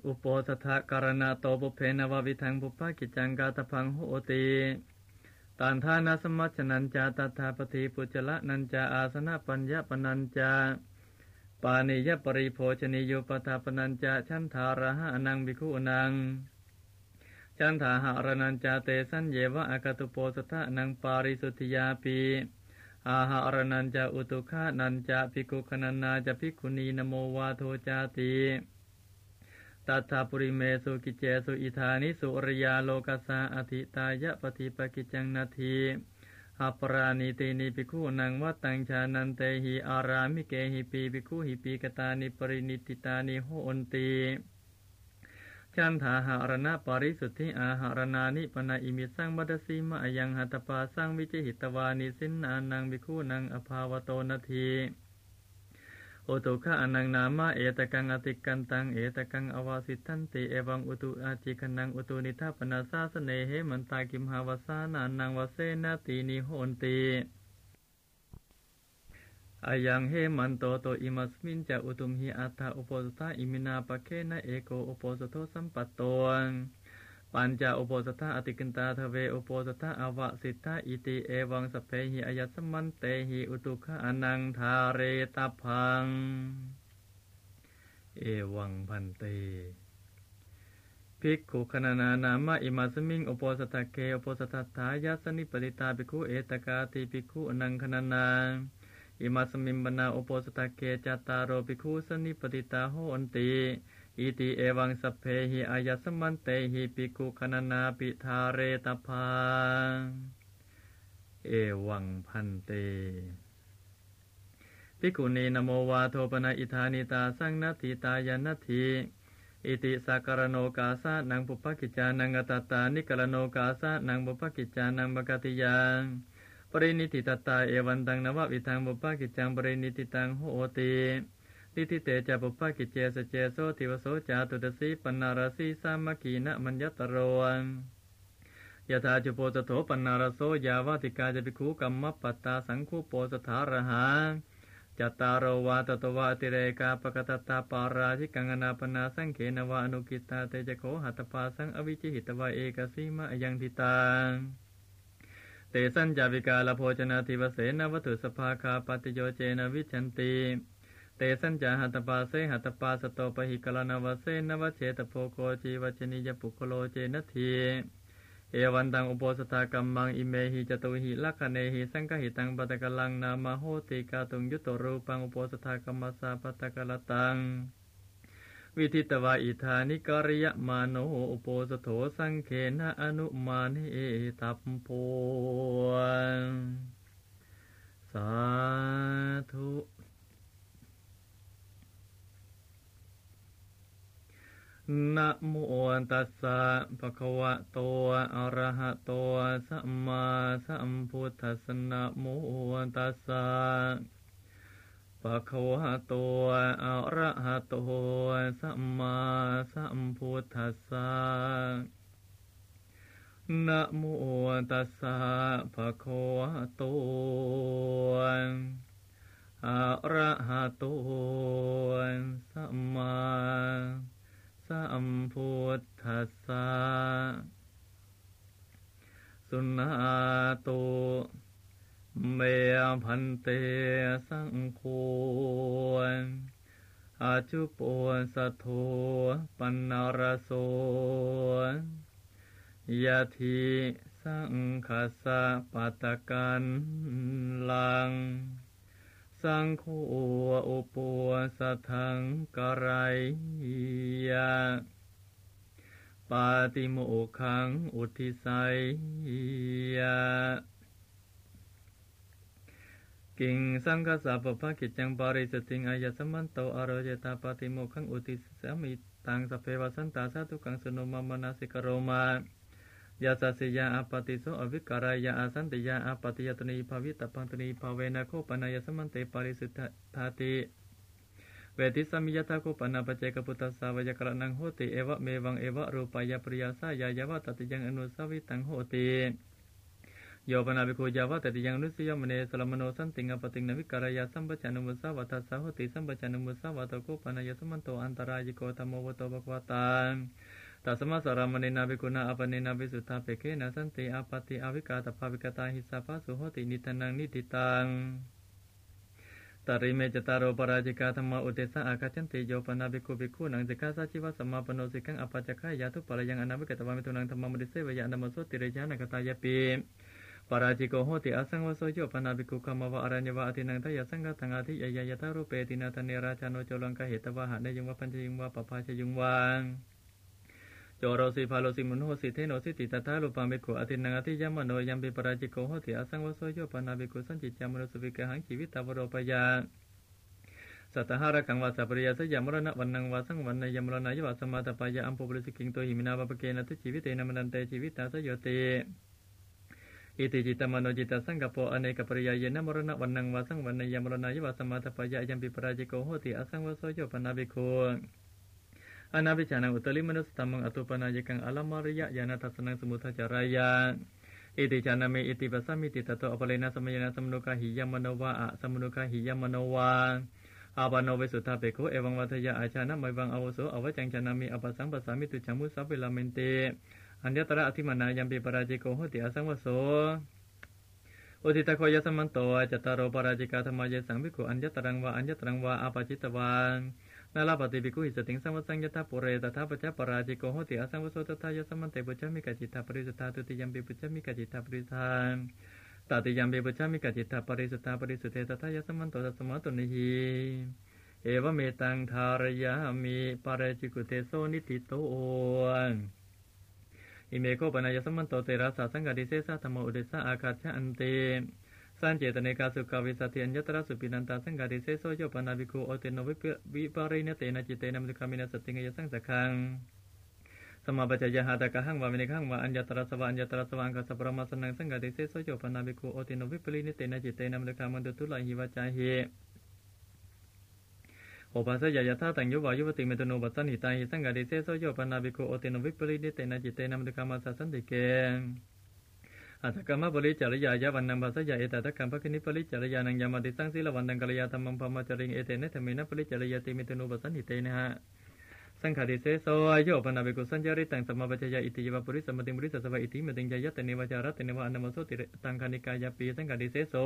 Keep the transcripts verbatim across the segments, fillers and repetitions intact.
อุโปสถการณาโตปุเพนววิทังปุปปกิจจังกาตพังโหติตันทานาสมัชนัญจาตถาปฏิปุจจละนัญจาอาสนะปัญญปนัญจาปานิยปริโภชนิโยปทาปนัญจาชันธาระหะอนังภิกขุนังชันธาหะระนัญจาเตสัญเยวะอากตุโปสถะนังปาริสุทธิยาปิอาหะระนัญจาอุตุฆะนัญจาภิกขุขนันนาจะภิกขุนีนโมวาโทจาติตัทธาปุริเมสุกิเจสุอิธานิสุริยาโลกัสสะอธิตายะปฏิปกิจจังนาทีหปราณิตินิภิกขุนังวัตตังชานันเตหิอารามิเกหิปีภิกขุหิปีกตานิปรินิติตานิโหนติชันธาหะระนะปริสุทธิอาหารนานิปนาอิมิสังบัดสีมะยังหัตปาสังวิจิหิตวานิสินนานังภิกขุนังอภาวโตนาทีโอตุขะอนังนามะเอตกังอติกันตังเอตกังอวาสิทันติเอวังอุตุอาจิคนังอุตุนิทัปนาสาสเนเหมันตากิมหาวสานานังวเสนาตีนิโหนติอายังเหมันโตโตอิมัสมินจะอุตุมหิอัตถะอุปสถะอิมินาปะเคนะเอโกอุปสโทสัมปัตโตปัญจอุปสถะอติกินตาทเวอุปสถะอวสิทธะอิติเอวังสเพหิอายัสมันเตหิอุตุขะอนังทาเรตพังเอวังพันเตภิกขุขณนานามะอิมัสมิงอุปสถะเกอุปสถะทายาสนิปติตาภิกขุเอตกาติภิกขุอนังขณนาอิมัสมิงบนาอุปสถะเกจัตตารโรภิกขุสนิปติตาโหนติอิติเอวังสัพเพหิอายัสมันเตหิภิกขุขณนาปิทาเรตพังเอวังพันเตภิกขุนีนโมวาโทปนะอิธานิตาสังนัตถิตายานัตถิอิติสักการโนกาสะนังปุปปกิจจานังอัตตานิกรโนกาสะนังปุปปกิจจานังบกติยังปรินิติตตาเอวันตังนววิทังปุปปกิจจังปรินิติตังโหติทิทิเตจะปุปปกิจเจสเจโสทิวโสจาตุตสีปนารสีสามัคคีนะมัญญตโรยถาจุโปสโถปนารโสยาวาติกาจะภิกขุกัมมปตตาสังคุโปสถารหาจัตตารโวาตตวะติเรกาปกตตาปาราชิกังอนาปนาสังเขนวาอนุกิตาเตจโคหัตปาสังอวิจิหิตวะเอกสีมะยังทิตาเตสัญจาวิกาลโภชนาทิวเสนวัตุสภาคาปฏิโยเจนวิชันติเตสัญจาหัตปาเสหัตปาสโตปหิกลานวเสนวเชตโพโกจีวชนิยปุคโลเจนทีเอวันตังอุปสถากัมมังอิเมหิจตุหิลักขเนหิสังฆหิตังปตกลังนามาโหติกาตุงยุตโตรูปังอุปสถากัมมัสสะปตกลตังวิทิตวาอิธานิกริยมาโนอุปสโถสังเขนะอนุมาเนตัพโพสาธุนะโมตัสสะภะคะวะโตอะระหะโตสัมมาสัมพุทธัสสะนะโมตัสสะภะคะวะโตอะระหะโตสัมมาสัมพุทธัสสะนะโมตัสสะภะคะวะโตอะระหะโตสัมมาสัมพุทธัสสะสุนาโตเมพันเตสังโฆอาจุโปสัทโธปันนารโสยะทิสังคัสสะปัตตกันลังสังโฆอุปสัทธังกรัยยะปาติโมกขังอุทิสัยยะกิงสังฆสัพพะกิจจังปาริสติงอายะสมันโตอโรเจตาปาติโมกขังอุทิสามิตังสัพเพวสันตาสาธุกังสโนมามนาสิกโรมายาสัสยาอปติโสอวิการายาอาสันติยาอปติยตนีภาวิตปันตนีภาเวนะโคปนายสมันเตปาริสุทธาติเวทิสมิยตาโคปนาปเจกปุตตสาวยกรณังโหติเอวะเมวังเอวะรูปายาปริยาสายายาวะตติยังอนุสาวิตังโหติโยปนาภิกขุยาวะตติยังนุสยมเนสลมโนสันติงอปติงนวิการยาสัมปชัญญมุสาวะทัสสะโหติสัมปชัญญมุสาวะตโกปนายสมันโตอันตรายิโกธรรมโวโตภควตาตัสมาสารามเนนาภิกขุนาอปเนนาภิสุทธาเปเกนะสันติอาปติอวิกาตภาวิกตาหิสาภาสุโหตินิทานังนิติตังตาริเมจตารโอปราจิกาธรรมอุเตสะอาคาชันติโยปนาภิกขุภิกขุนังสิกขาสัจจิวะสัมมาปโนสิกังอปัจจคายาทุปะยังอนาวิกตวามิตุนังธรรมมุติเสวยะนามโสติเรยานักตายปิปราจิโกโหติอสังวโสโยปนาภิกขุคัมมวะอรัญญวะอตินังทายสังฆตังอาทิยยยตารูเปตินาทเนราชาโนโจลังกะเหตวะหะเนยุงวะปัญจยุงวะปปาชยุงวะโจโรสิภาโลสิมุนโหสิเทโนสิติตถาลุปาภิกขุอตินังอติยมโนยัมปิปราจิโกโหติอสังวโสโยปนาภิกขุสัญจิจามโนสุวิกหังชีวิตาวโรปยาสัตหาระกังวาสัปริยาสยามรณะวันนังวาสังวันนายมรณายวัสมาตปายะอัมปุบริสิกิงโตหิมินาปปเกนะทุชีวิเตนะมนันเตชีวิตาสยโยติอิติจิตมโนจิตสังกปโปอเนกปริยายนะมรณะวันนังวาสังวันนายมรณายวัสมาตปายะยัมปิปราจิโกโหติอสังวโสโยปนาภิกขุอนาภิชานังอุตลิมนุสตัมมังอตุปนายกังอลามาริยะยานาทัสนังสมุทจารายะอิติชานาเมอิติปัสสมิติตโตอปเลนะสมยนะสมนุกะหิยมโนวะอะสมนุกะหิยมโนวะอาปานโนเวสุทธาเปโกเอวังวัฏยะอาชานะไมวังอวโสอวจังชานามิอปัสสังปัสสามิตุจังมุสัพเวลาเมนเตอัญญตระอธิมานายัมปิปราจิโกโหติอสังวโสอุทิตะโคยสมันโตจตารโอปราจิกาธรรมายสังภิกขุอัญญตรังวะอัญญตรังวะอาปาจิตวันนาลาปฏิภิกขุหิสติงสังวสังยตาปุเรตถาปัจจปราจิโกโหติอสังวโสตถายสมันเตปุจจมิกจิตตาปริสุทธาตุติยัมปิปุจจมิกจิตตาปริสุทธาตติยัมปิปุจจมิกจิตตาปริสุทธาปริสุทเทตถายสมันโตตัสสมะตุนิหิเอวเมตังทารยามิปาเรจิกุเตโสนิติโตอิเมโกปนายสมันโตเตระสาสังกัดิเสสะธรรมอุเดสะอาคาชะอันเตสันเจตเนกาสุขวิสัติอัญญตระสุปินันตาสังกัดิเสโสโยปนาภิกขุโอเตโนวิปาริเนเตนะจิเตนะมุขคามินะสติงยสังสักขังสมาปัจจยหาตกะหังวามินิขังวาอัญญตระสวะอัญญตระสวังกัสสะปรมาสนังสังกัดิเสโสโยปนาภิกขุโอเตโนวิปาริเนเตนะจิเตนะมุขคามันตุตุลาหิวะจาหิโอปัสสยายถาตังโยวายุวติเมตุโนปัสสันหิตาหิสังกัดิเสโสโยปนาภิกขุโอเตโนวิปาริเนเตนะจิเตนะมุขคามัสสะสันติเกอัตถกรรมปริจารยายะวันนังภาษยาเอตตะกัมภคินิปริจารยานังยามาติสังสีลวันนังกัลยาธรรมังพมจริงเอเตนะธรรมินะปริจารยาติมิตุโนปัสสันหิเตนะหะสังขติเสโสโยปนาภิกขุสัญจาริตังสัมมาปัจจยาอิติยวะปุริสมติมุริสสวะอิติมติงยายะเตเนวจาระเตเนวะอนามโสติตังคานิกายาปีสังขติเสโส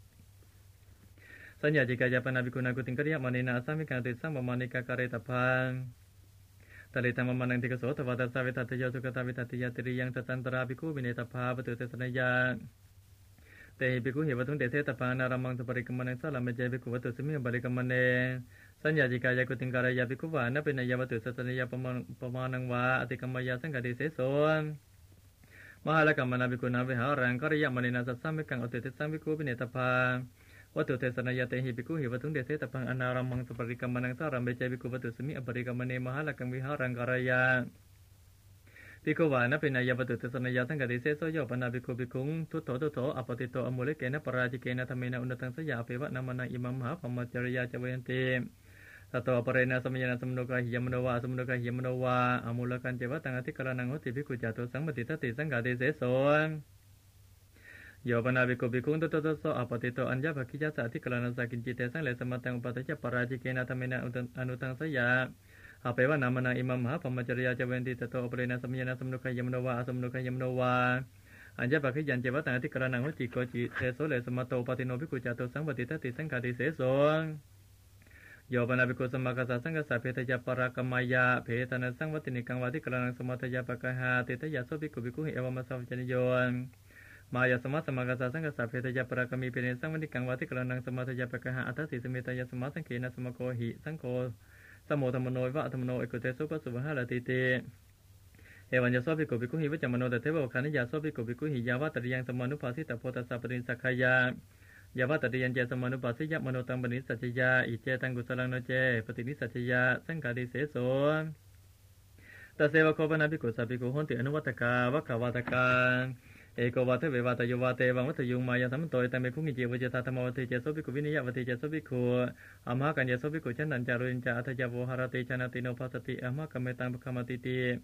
สัญญาจิกายาปนาภิกขุนากุติงกริยะมณีนาสัมมิกาติสัมมานิกาการะตะพังตลิตังมมังติกโสทวตัสสะเวทัตยสุขตาวิทัตยาติริยังตันตราภิกขุวิเนตภาปตุเตสนยาเตหิภิกขุเหวทุนเตเสตปานารัมมังสปริกมมังสาลามเจภิกขุวัตุสมิงบริกมเนสัญญาจิกายากุติงการยาภิกขุวานะเป็นนายวัตุสัสนยาปมาปมานังวาอติกมยาสังกัดิเสโสมหาลกัมมนาภิกขุนาวิหารังกริยมณีนาสัสสะมิกังอติเตสังภิกขุวิเนตภาวัตุเทสนายาเตหิภิกขุหิวทุนเตเสตปังอนารัมมังสปริกมมังสาลามเจภิกขุวัตุสมิงบริกมเนมหาลกัมวิหารังกรยาภิกขุวานะเป็นนายวัตุเตสนายาสังกัดิเสโสโยปนาภิกขุภิกขุทุตโถทุตโถอปติโตอมุเลเกนะปราจิเกนะธรรมินะอุณตังสยาเปวะนามานังอิมัมมหาปมัจจริยาจเวนติสัตตวปเรนะสมยนะสมโนกะหิยมโนวาสมโนกะหิยมโนวาอมุลกันเจวะตังอธิกรณังโหติภิกขุจาตุสังมติทัตติสังกัดิเสโสโยปนาภิกขุภิกขุทุตโถทุตโถอปติโตอัญญภคิยะสะอธิกรณังสักกินจิเตสังเลสมัตตังอุปัฏฐัปราจิเกนะธรรมินะอนุตังสยาอาเปวะนามานังอิมัมมหาปมัจจริยาจเวนติตโตอปเรนะสมยนะสมโนกะหิยมโนวาสมโนกะหิยมโนวาอัญญภคิยันเจวะตังอธิกรณังโหติโกจิเตโสเลสมัตโตปฏิโนภิกขุจาตุสังมติทัตติสังกัดิเสโสโยปนาภิกขุสัมมากัสสะสังกัสสะเพทยปรากมายาเพทนาสังวัตินิกังวัติกรณังสมัทยาปะกะหาเตทยาโสภิกขุภิกขุหิเอวมัสสะวัจจโยมายาสมัสสมกัสสะสังกัสสะเพทยปรากมีเพเนสังวัติกังวัติกรณังสมัทยาปะกะหาอัตถสิสเมตยาสมัสังเกนะสมโกหิสังโฆสมโมธรรมโนวะธรรมโนเอกุเตสุปสุวหะลติเตเอวัญญโสภิกขุภิกขุหิวัจจมโนตเทวะขันธิยาโสภิกขุภิกขุหิยาวะตริยังสมานุภาสิตโพธัสสะปริสักขยายาวะตติยันเจสมานุปัสสิยะมโนตังปณิสัจจยาอิเจตังกุศลังโนเจปฏินิสัจจยาสังกัดิเสโสตัสเสวะโคปนาภิกขุสัพภิกขุโหติอนุวัตกาวะขวัตกาเอกวัตเววัตโยวาเตวังวัตยุงมายาสัมโตตังเมคุงิเจวเจตาธรรมวัตเจโสภิกขุวินิยะวัตเจโสภิกขุอมหะกัญญโสภิกขุฉันนันจารุญจาอัตถยาโวหารติชนะติโนภัสสติอมหะกัมเมตังภคมติติ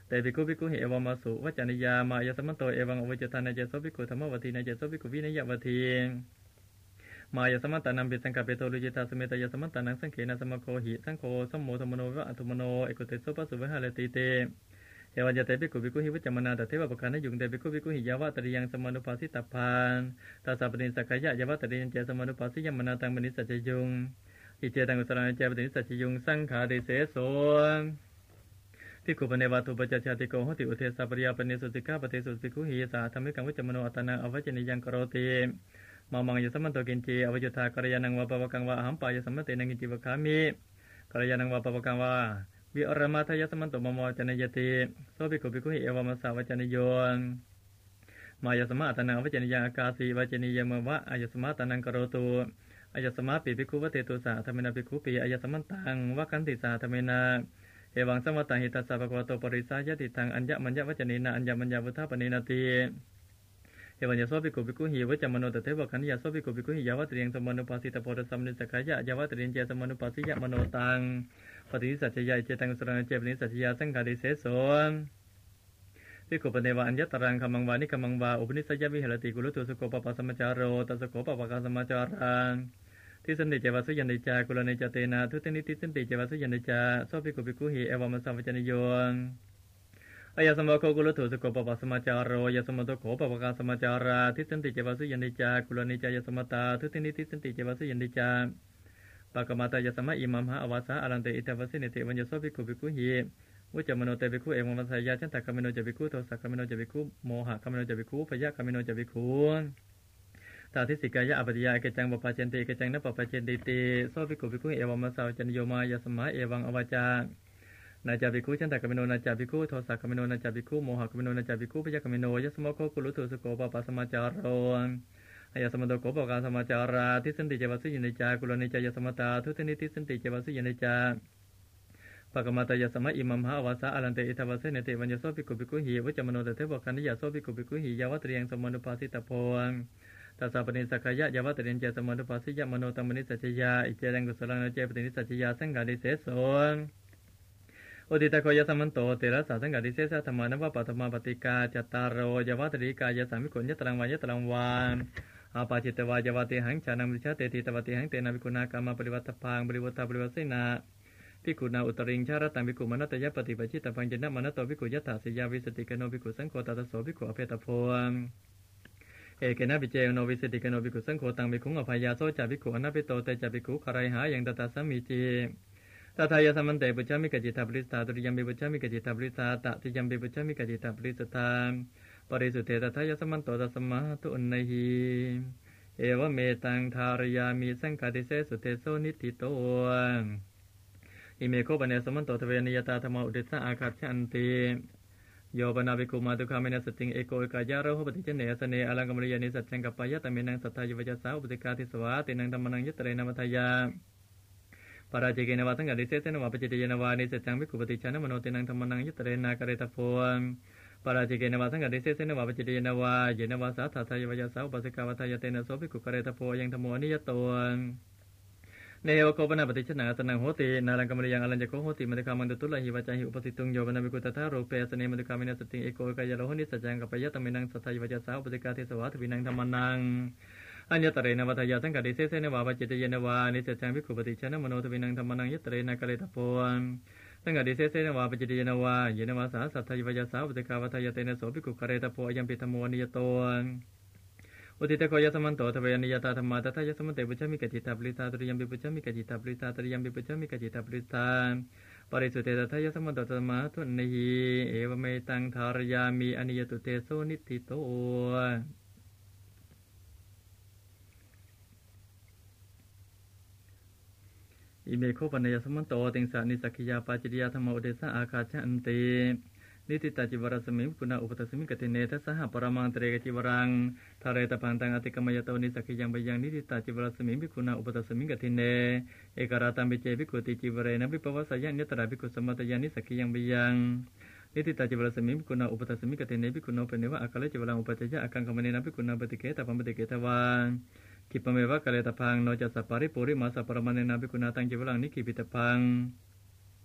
แต่ภิกขุภิกขุหิเอวามาสุวัจจานิยามายสมันโตเอวังอวิจตานาเจโสภิกขุธรรมวัตถีนาเจโสภิกขุวินัยวทีมายสมันตานัมปิสังกัปเปโตลุจิตาสเมตยสมันตานังสังเขนะสมโคหิสังโฆสัมโมธรรมโนวะอัตุมโนเอกุเตโสปัสสุวะหะเลติเตเอวัจเตภิกขุภิกขุหิวัจจมนาตเทวะปะคะนะยุงเตภิกขุภิกขุหิยาวะตริยังสมานุภาสิตพานตาสัพปนิสักขยะยาวะตริยังเจสมานุภาสิยมนาตังมณิสัจจยุงอิเจตังกุศลาเจปติสัจจยุงสังขาริเสโสภิกขุปเนวาตุปจัจจติโกโหติอุเทสะปริยาปเนสุติกาปฏิสุภิกขุหิสาธรรมิกังวิจมโนอัตตนังอวัจจนิยังกโรติมามังยสัมมันโตกินจีอวัจจตากรยานังวะปะวะกังวะอหัมปายสัมมเตนังกินจิวะคามิกรยานังวะปะวะกังวะวิอรมาทายสัมมันโตมโมจเนยติโสภิกขุภิกขุหิเอวามัสสะวัจจนิโยมายสมะอัตตนังอวัจจนิยังอากาสีวัจจนิยมวะอายสมะอัตตนังกโรตุอายสมะปิภิกขุวะเตตุสะธรรมนาภิกขุปิอายสมันตังวะกันติสะธรรมนาเอวังสัมวตังหิตัสสะภะคะวะโตปริสายติทังอัญญมัญญวัจจเนนะอัญญมัญญวุฒาปเนนะติเอวัญญโสภิกขุภิกขุหิวัจจมโนตเทวะขันยะโสภิกขุภิกขุหิยาวะตริยังสมานุปัสสิตโพธสัมนิสักขยะยาวะตริยังเจสมานุปัสสิยะมโนตังปฏิสัจจยะเจตังสุรังเจปนิสัจจยะสังฆาริเสโสภิกขุปเนวะอัญญตรังคัมมังวานิคัมมังวาอุปนิสัยยะวิหรติกุลตุสุโกปปะสัมมจารโรตัสโกปปะกะสัมมจารังทิสันติเจวะสุยันติจากุลเนจเตนะทุตินิทิสันติเจวะสุยันติจาโสภิกขุภิกขุหิเอวามัสสะวัจจนิโยอายะสมะโคกุลตุสุโกปปะสัมมจารโรยะสมะโตโขปปะกะสัมมจาราทิสันติเจวะสุยันติจากุลเนจายะสมะตาทุตินิทิสันติเจวะสุยันติจาปะกะมาตายะสมะอิมัมหะอวาสะอรันเตอิตวะสินิเตวัญญโสภิกขุภิกขุหิวุจมโนเตภิกขุเอวามัสสะยะฉันตะกัมมิโนจะภิกขุโทสะกัมมิโนจะภิกขุโมหะกัมมิโนจะภิกขุพยะกัมมิโนจะภิกขุตาทิสิกายะอปฏิยาเกจังปปะเจนติเกจังนปปะเจนติติโสภิกขุภิกขุเอวามัสสะจันโยมายะสมะเอวังอวาจานาจาภิกขุฉันตะกัมมิโนนาจาภิกขุโทสะกัมมิโนนาจาภิกขุโมหะกัมมิโนนาจาภิกขุพยะกัมมิโนยะสมะโคกุลุตุสุโกปปะสัมมาจารโรอายะสมะโตโกปปะสัมมาจาราทิสันติเจวะสุยินติจากุลเนจายะสมะตาทุตินิทิสันติเจวะสุยินติจาปะกะมาตายะสมะอิมัมหะอวาสะอรันเตอิทวะเสเนเตวัญญโสภิกขุภิกขุหิวุจมโนตเทวะคันยะโสภิกขุภิกขุหิยาวะตริยังสมานุภาสิตโพตัสสะปนิสักขยะยาวะตริยังเจสมานุภาสิยะมโนตัมมณิสัจจยาอิเจตังกุศลังเจปตินิสัจจยาสังฆาริเสโสอุติตะโคยะสัมมันโตเตระสะสังฆาริเสสะธรรมานวะปัตตมะปฏิกาจัตตารโรยาวะตริกายะสัมมิโขญะตรังวายะตรังวานอาปาจิตตวายาวะเตหังชานังวิชาเตติตวะเตหังเตนะภิกขุนากรรมปริวัตพังปริวัตตาปริวัสสินาภิกขุนาอุตริงชาระตังภิกขุมนัตยะปฏิปัจิตตังจินนะมนัตโตภิกขุยัตถาสิยาวิสติกโนภิกขุสังโฆตัสโสภิกขุอเพตโพเอเกนะปิเจโนวิสติกโนภิกขุสังโฆตังภิกขุอภัยยาโสจาภิกขุอนัปปิโตเตจาภิกขุคารายหายังตตาสัมมิจิตถายะสัมมันเตปุจจามิกจิตาปริสตาตุริยัมปิปุจจามิกจิตาปริสตาตติยัมปิปุจจามิกจิตาปริสตาปริสุเทตถายะสัมมันโตตัสมะตุอุนนัยหิเอวะเมตังทารยามิสังฆาติเสสุเทโสนิติโตอิเมโคปะเนสมันโตทเวนิยตาธรรมอุเดสะอาคัจฉันติโยปนาภิกขุมาตุคาเมนะสติงเอโกเอกายะโรหปฏิเจเนสเนอลังกมริยานิสัจจังกัปปายะตะเมนังสัทธายวัจสาอุปติกาทิสวะตินังธัมมังยตเรนะมัทยาปาราจิเกนะวะสังฆาริเสสนะวะปจิตเยนะวะนิสัจจังภิกขุปฏิชนะมโนตินังธัมมังยตเรนะกะเรตะโพปาราจิเกนะวะสังฆาริเสสนะวะปจิตเยนะวะเยนะวะสัทธายวัจสาอุปสิกาวัทยาเตนะโสภิกขุกะเรตะโพยังธัมโมอนิยโตเนวโคปนาปฏิชนะสนังโหตินาลังกมริยังอลัญจโคโหติมัตคามันตุตุลหิวจาหิอุปสิตุงโยปนาภิกขุตถาโรเปสเนมัตคามินัสติงเอโกกายะโลหนิสัจจังกัปปยะตะเมนังสัทธายวัจสาอุปสิกาเทสวะทวินังธัมมังอัญญตเรนะวัทยาสังฆาริเสสนะวะปจิตเยนะวะนิสัจจังภิกขุปฏิชนะมโนทวินังธัมมังยตเรนะกะเรตะโพสังฆาริเสสนะวะปจิตเยนะวะเยนะวะสาสัทธายวัจสาอุปสิกาวัทยาเตนะโสภิกขุกะเรตะโพยัมปิธัมโมนิยโตอุติตะโคยะสัมมันโตทเวนิยตาธรรมะตถายะสัมมันเตปุจจามิกจิตาปริตาตุริยัมปิปุจจามิกจิตาปริตาตุริยัมปิปุจจามิกจิตาปริตาปริสุเตตถายะสัมมันโตตัมมะทุนนิหิเอวเมตังทารยามิอนิยตุเตโสนิติโตอิเมโคปนัยสัมมันโตติงสานิสักขิยาปาจิตยาธรรมอุเดสะอาคาชันตินิติตาจิวรสมิงกุณาอุปตสมิงกติเนทัสสะปรมังเตระจิวรังทาเรตพังตังอติกมยโตนิสักขิยังไปยังนิติตาจิวรสมิงภิกขุนาอุปตสมิงกติเนเอกราตัมปิเจภิกขุติจิวเรนะวิปวัสสยัญญตระภิกขุสมัตยานิสักขิยังไปยังนิติตาจิวรสมิงภิกขุนาอุปตสมิงกติเนภิกขุโนเปเนวะอาคาเลจิวรังอุปจัยยะอากังคมเนนะภิกขุนาปฏิเกตปัมปฏิเกตวากิปเมวะกะเลตพังโนจัสสะปาริปุริมาสะปรมังเนนะภิกขุนาตังจิวรังนิกิปิตพังโอ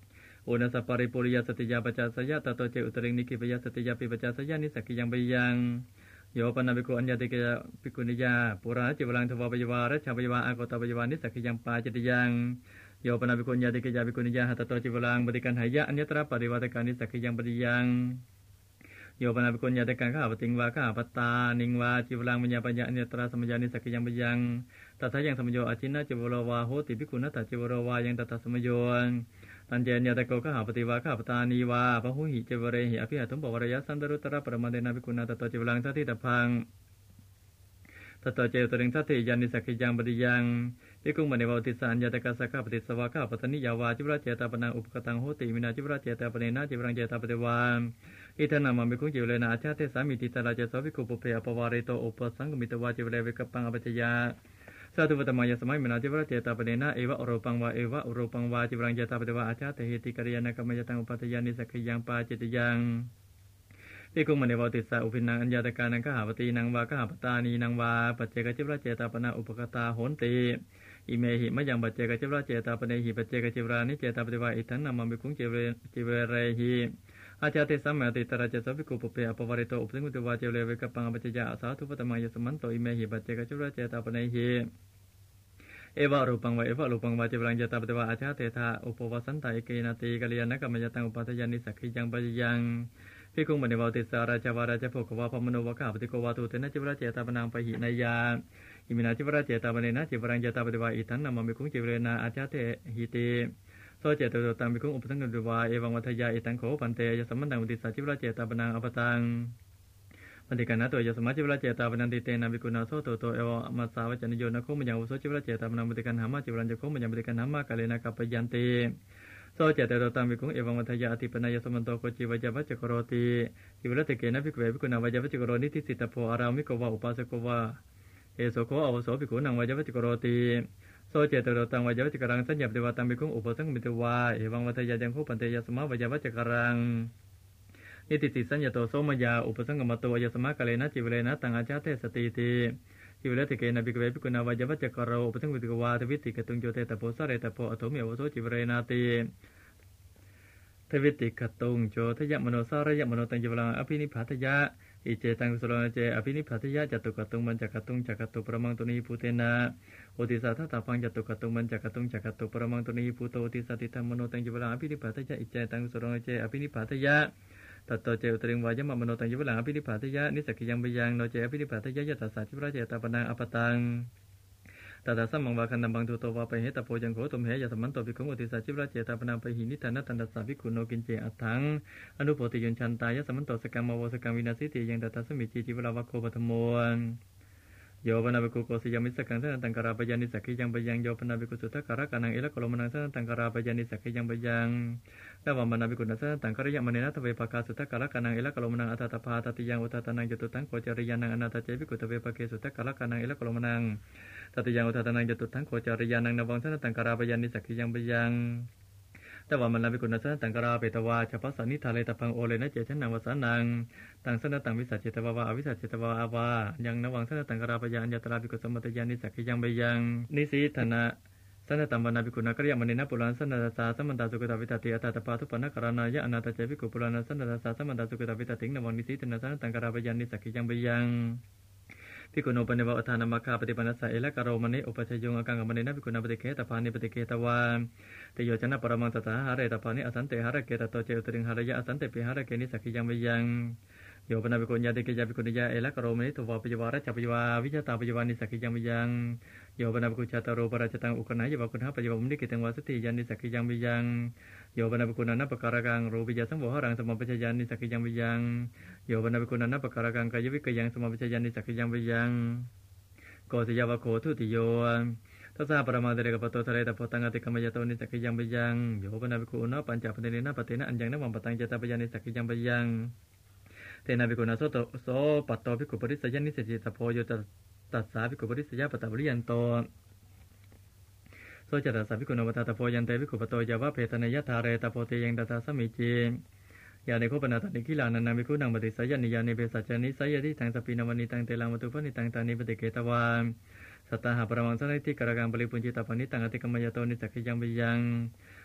นัสสะปริปุริยสติยาปัจจสยะตโตเจอุตริงนิกิปยสติยาปิปัจจสยะนิสักขิยังไปยังโยปนาภิกขุอัญญติกะภิกขุนิยาปุราจิวลังทวาปยวารัชาปยวาอากตปยวานิสักขิยังปาจิตยังโยปนาภิกขุอัญญติกะภิกขุนิยาหัตโตจิวลังบดิกันหายะอัญญตระปริวัตกานิสักขิยังปฏิยังโยปนาภิกขุอัญญติกันข้าปติงวาข้าปตานิงวาจิวลังมัญญาปัญญาอัญญตระสมัญญานิสักขิยังปยังตถายังสมัญโยอจินนะจิวโรวาโหติภิกขุนัตถจิวโรวายังตถาสมัญโยตันเจญญาตะโกข้าปฏิวาข้าปตานีวาพหุหิเจวเรหิอภิหัตุปวรยสันดรุตระปรมาเดนะภิกขุนาตโตจิวลังทัตติตพังตโตเจตริงทัตติยานิสักขิยังปฏิยังภิกขุมณีวติสานญาตกะสักขปฏิสวาข้าปตนิยาวาจิวราเจตาปนังอุปกตังโหติมินาจิวราเจตาปเนนะจิวรังเจตาปฏิวาอิทนามัมภิกขุจิวเลนะอาชาเทสามิติตราเจโสภิกขุปุเพอปวาริโตอุปสังกมิตวาจิวเลวิกัปปังอปัจจยาสาธุปตมายสมัยมินาจิวราเจตาปเนนะเอวะอรูปังวาเอวะอรูปังวาจิวรังเจตาปฏิวาอาชาเทหิติกัลยาณกัมมยตังอุปัฏฐยานิสักขิยังปาจิตยังภิกขุมณีวติสาอุปินังอัญญาตกานังขหาปตีนังวาขหาปตานีนังวาปัจเจกจิวราเจตาปนาอุปกตาโหนติอิเมหิมะยังปัจเจกจิวราเจตาปเนหิปัจเจกจิวรานิเจตาปฏิวาอิทันนามัมภิกขุจิวเรจิวเรหิอาจาติสัมมาติตระเจสภิกขุปุเพอปวาริโตอุปสังกุตวาเจวเลวิกัปปังอปัจจยาสาธุปตมายสมันโตอิเมหิปัจเจกจิวราเจตาปเนหิเอวะรูปังวะเอวะรูปังวะจิวรังเจตาปฏิวาอาชาเตถาอุปวสันตาเอเกนาติกัลยาณกัมมยตังอุปัฏฐยานิสักขิยังปะยังภิกขุมณีวติสาราชาวาราชโภควาพมโนวะข้าปฏิโกวาตุเตนะจิวราเจตาปนังปะหินายาอิมินาจิวราเจตาปเนนะจิวรังเจตาปฏิวาอิทันนามัมภิกขุจิวเรนะอาชาเตหิติโสเจตโตตังภิกขุอุปสังกุตวาเอวังวัฏยาอิตังโขปันเตยสัมมันตังอุติสาจิวราเจตาปนังอปตังปฏิกันนะตัวยสมัจจิวราเจตาปนันติเตนะภิกขุนาโสโตโตเอวะมัสสาวจนิโยนะโคมยังอุโสจิวราเจตาปนังปฏิกันหามาจิวรังจะโคมยังปฏิกันหามากาเลนะกัปปยันติโสเจตโตตังภิกขุเอวังวัฏยาอธิปนายสมันโตโกจิวจวัจจโกโรติจิวรติเกนะภิกขุเวภิกขุนาวจวัจจโกโรนิติสิตโพอารามิโกวะอุปาสโกวะเอโสโคอวโสภิกขุนังวจวัจจโกโรติโสเจตโตตังวจวัจจกรังสัญญาปฏิวาตังภิกขุอุปสังมิตวาเอวังวัฏยายังโคปันเตยสมะวจวัจจกรังนิติสิสัญญาโตโสมยาอุปสังกมโตยสมะกะเลนะจิวเลนะตังอาชาเทสติติจิวเลติเกนะภิกขุเวภิกขุนาวจวัจจกโรอุปสังมิตวาทวิติกตุงโยเตตโพสะเรตโพอโถเมวโสจิวเรนาติทวิติกตุงโจทยมโนสารยมโนตังจิวลังอภินิพพาทยะอิเจตังกุศลเจอภินิพพาทยะจตุกตุงมันจักตุงจักตุปรมังตุนีภูเตนะโอติสาทัตตาฟังจตุกตุงมันจักตุงจักตุปรมังตุนีภูโตโอติสาติธรรมโนตังจิวลังอภินิพพาทยะอิเจตังกุศลเจอภินิพพาทยะตัตโตเจอุตริงวายมะมโนตังจิวลังอภินิพพาทยะนิสักขิยังไปยังโนเจอภินิพพาทยะยตสาจิวราเจตาปนังอปตังตถาสัมมังวาคันนัมบังตุโตวาไปเหตโพยังโขตุมเหยะสมันโตภิกขุอุติสาจิวราเจตาปนังไปหินิทานะตันตสาภิกขุโนกินเจอัตถังอนุโพธิยุนชันตายะสมันโตสกัมมโวสกัมวินาสิติยังตถาสมิจีจิวราวะโคปะธโมโยปนาภิกขุโกสิยามิสกังสนันตังกราปยานิสักขิยังปยังโยปนาภิกขุสุทธการะกันังเอละโกโลมนังสนันตังกราปยานิสักขิยังปยังตวามนาภิกขุนัสนันตังกริยมเนนะทเวปกาสุทธการะกันังเอละโกโลมนังอัตตาภาตติยังอุตตานังจตุตังโกจริยานังอนาตเจภิกขุทเวปเกสุทธการะกันังเอละโกโลมนังตติยังอุตตานังจตุตังโกจริยานังนวังสนันตังกราปยานิสักขิยังปยังตวามันนาภิกขุนัสนันตังกราเปตวาชปัสสนิทาเลตพังโอเลนะเจชันนังวสานังตังสนันตังวิสัชเจตวาวาอวิสัชเจตวาอาวายังนวังสนันตังกราปยานยตราภิกขุสมมัตยานิสักขิยังปยังนิสีธนะสนันตังวนาภิกขุนักริยมเนนะปุรันสนันตาสัมมันตาสุกตวิตติอัตตาปาทุปนะกรณายะอนาตเจภิกขุปุรันสนันตาสัมมันตาสุกตวิตติงนวังนิสีธนะสนันตังกราปยานิสักขิยังปยังภิกขุโนปเนวะอัฏฐานามัคคาปฏิปันนัสสะเอละกะโรมเนอุปชยงอกังกมเนนะภิกขุนาปฏิเกตปานิปฏิเกตวาเตโยชนะปรมังตถาหะเรตปานิอสันเตหะระเกตโตเจอุตริงหะระยะอสันเตปิหะระเกนิสักขิยังมยังโยปนาภิกขุญาติเกยะภิกขุนิยะเอละกะโรมเนตุวาปยวาระจัปยวาวิจตาปยวานิสักขิยังมยังโยปนาภิกขุชาตโรปราชตังอุกนัยยวะคุณหะปยวมุนิกิตังวาสติยานิสักขิยังมยังโยปนาภิกขุนันปะการะกังรูปิยะสังโวหะรังสมปัจจยานิสักขิยังมยังโยปนาภิกขุนันปะการะกังกายวิกยังสมปัจจยานิสักขิยังมยังโกศยาวะโคทุติโยทัสสะปรมาเดเรกปโตทะเลตะโพตังอติกมยโตนิสักขิยังปยังโยปนาภิกขุนะปัญจปเทเนนะปเทนะอัญญังนะวังปตังเจตาปยานิสักขิยังปยังเตนะภิกขุนะโสโตโสปัตโตภิกขุปริสยานิสิจิตโพโยตัสสะภิกขุปริสยาปตะปริยันโตโสจัตตสะภิกขุนะวัตตะโพยันเตภิกขุปโตยาวะเพตนะยะทาเรตะโพเตยังตถาสมิจิยาในโคปนาตันิกิลานันนาภิกขุนังปฏิสัยนิยานิเปสัจจานิสัยยติทังสปินวันิตังเตลังวัตุปนิตังตานิปฏิเกตวาสัตตาหะปรมังสนิติกรกังปริปุญจิตาปนิตังอติกมยโตนิสักขิยังปยัง